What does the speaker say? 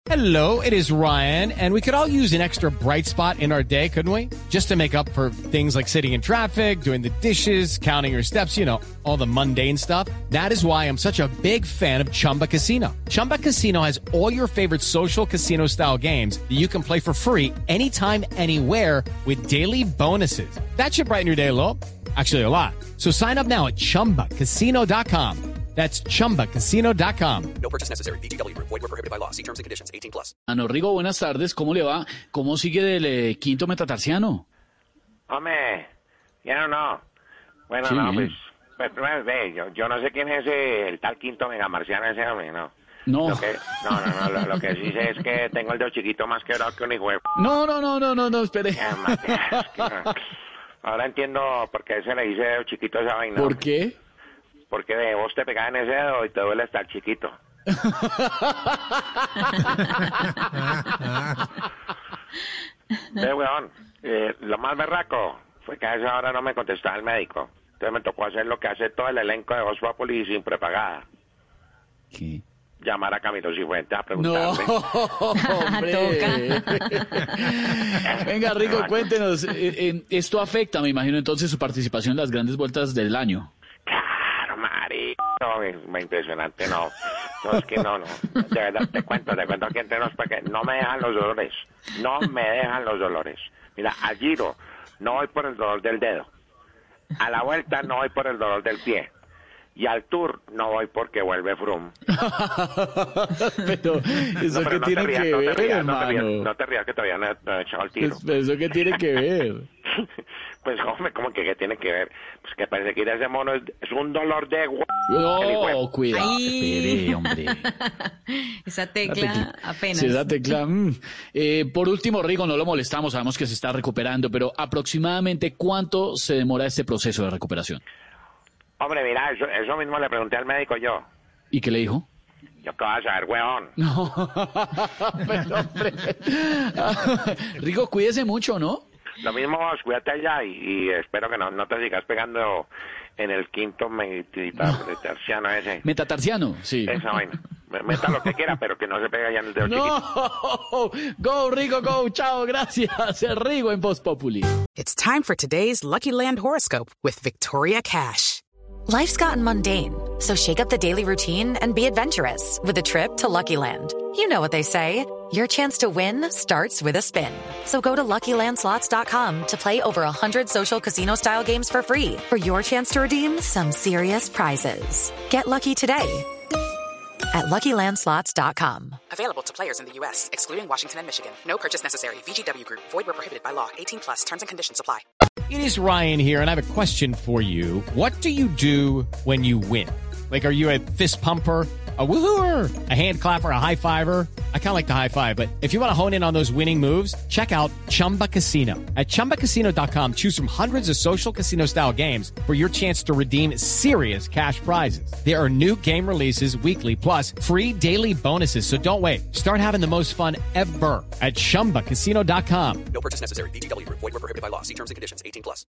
Hello, it is Ryan, and we could all use an extra bright spot in our day, couldn't we? Just to make up for things like sitting in traffic, doing the dishes, counting your steps, you know, all the mundane stuff. That is why I'm such a big fan of Chumba Casino. Chumba Casino has all your favorite social casino-style games that you can play for free anytime, anywhere with daily bonuses. That should brighten your day a little. Actually, a lot. So sign up now at ChumbaCasino.com. That's ChumbaCasino.com. No purchase necessary. VGW Group. Void where prohibited by law. See terms and conditions. 18+. Ano Rigo, buenas tardes. ¿Cómo le va? ¿Cómo sigue del quinto metatarsiano? Hombre, ya no. Bueno, Sí. no, pues primero, ve, yo no sé quién es el tal quinto megamarciano ese hombre, no. No. Lo que sí sé es que tengo el dedo chiquito más quebrado que un hijo de... No, espere. Ahora entiendo por qué se le dice dedo chiquito a esa vaina. ¿Por qué? Porque vos te pegás en ese dedo y te duele estar chiquito. Weón, lo más berraco fue que a esa hora no me contestaba el médico. Entonces me tocó hacer lo que hace todo el elenco de Voz Populi sin prepagada. ¿Qué? Llamar a Camilo Cifuentes a No, preguntarle. hombre. Venga, Rigo, cuéntenos. Esto afecta, me imagino, entonces su participación en las grandes vueltas del año. Claro, marico. Impresionante, no. No, es que no. De verdad, te cuento aquí entre nos porque no me dejan los dolores. No me dejan los dolores. Mira, al Giro no voy por el dolor del dedo. A la vuelta no voy por el dolor del pie. Y al Tour no voy porque vuelve Froome. Pero eso qué tiene que ver, hermano. No te rías que todavía no he echado el tiro. Pues, eso qué tiene que ver. Pues, hombre, ¿cómo que qué tiene que ver? Pues que perseguir a ese mono es un dolor de No, cuidado. Ay. Espere, hombre. Esa tecla apenas. Sí, esa tecla. Por último, Rigo, no lo molestamos, sabemos que se está recuperando, pero aproximadamente ¿cuánto se demora este proceso de recuperación? Hombre, mira, eso mismo le pregunté al médico yo. ¿Y qué le dijo? Yo qué vas a saber, weón. No, pero hombre. Rigo, cuídese mucho, ¿no? Lo mismo vos, cuídate allá y espero que no te sigas pegando en el quinto metatarsiano ese. Metatarsiano, sí. Esa vaina. Meta lo que quiera, pero que no se pegue allá en el dedo chiquito. No, go Rigo, go, chao, gracias. Rigo en Voz Populi. It's time for today's Lucky Land horoscope with Victoria Cash. Life's gotten mundane, so shake up the daily routine and be adventurous with a trip to Lucky Land. You know what they say, your chance to win starts with a spin. So go to LuckyLandSlots.com to play over 100 social casino-style games for free for your chance to redeem some serious prizes. Get lucky today at LuckyLandSlots.com. Available to players in the U.S., excluding Washington and Michigan. No purchase necessary. VGW Group. Void where prohibited by law. 18+. Terms and conditions apply. It is Ryan here, and I have a question for you. What do you do when you win? Like, are you a fist pumper, a woohooer, a hand clapper, a high fiver? I kind of like the high five, but if you want to hone in on those winning moves, check out Chumba Casino. At ChumbaCasino.com, choose from hundreds of social casino-style games for your chance to redeem serious cash prizes. There are new game releases weekly, plus free daily bonuses, so don't wait. Start having the most fun ever at ChumbaCasino.com. No purchase necessary. VGW Group. Void where prohibited by law. See terms and conditions. 18+.